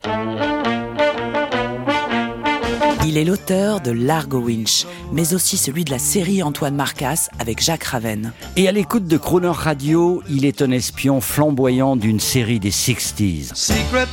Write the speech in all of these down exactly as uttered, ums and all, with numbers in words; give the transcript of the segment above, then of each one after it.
Il est l'auteur de Largo Winch, mais aussi celui de la série Antoine Marcas avec Jacques Raven. Et à l'écoute de Crooner Radio, il est un espion flamboyant d'une série des sixties. Secret.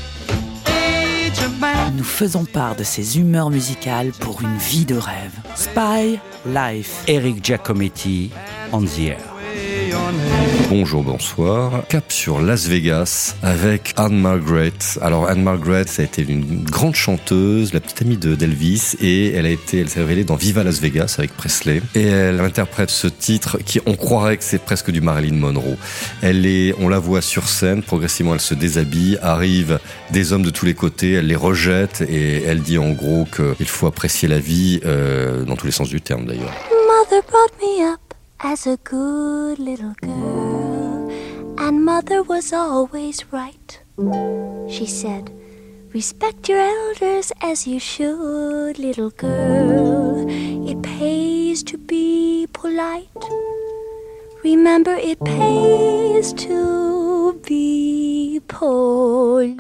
Nous faisons part de ses humeurs musicales pour une vie de rêve. Spy Life. Eric Giacometti, On the Air. Bonjour, bonsoir. Cap sur Las Vegas avec Ann-Margret. Alors Ann-Margret, ça a été une grande chanteuse, la petite amie de d'Elvis, et elle a été, elle s'est révélée dans Viva Las Vegas avec Presley. Et elle interprète ce titre qui, on croirait que c'est presque du Marilyn Monroe. Elle est, on la voit sur scène, progressivement elle se déshabille, arrivent des hommes de tous les côtés, elle les rejette et elle dit en gros qu'il faut apprécier la vie, euh, dans tous les sens du terme d'ailleurs. Mother brought me up as a good little girl, and mother was always right. She said, respect your elders as you should, little girl. It pays to be polite. Remember, it pays to be polite.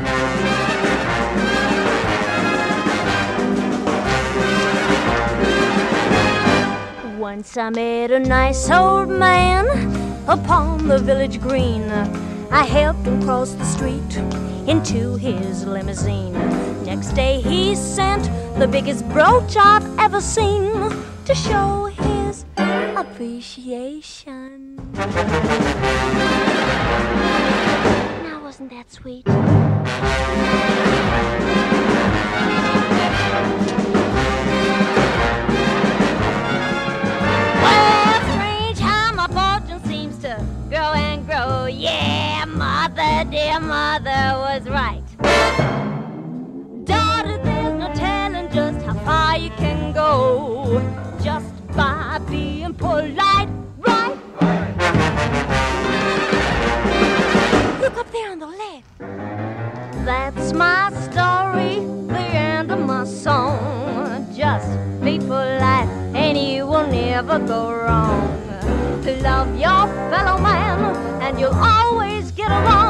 Once I met a nice old man upon the village green. I helped him cross the street into his limousine. Next day he sent the biggest brooch I've ever seen to show his appreciation. Now wasn't that sweet? Yeah, mother, dear mother was right. Daughter, there's no telling just how far you can go just by being polite, right? Look up there on the left. That's my story, the end of my song. Just be polite and you will never go wrong. Love your fellow man and you'll always get along.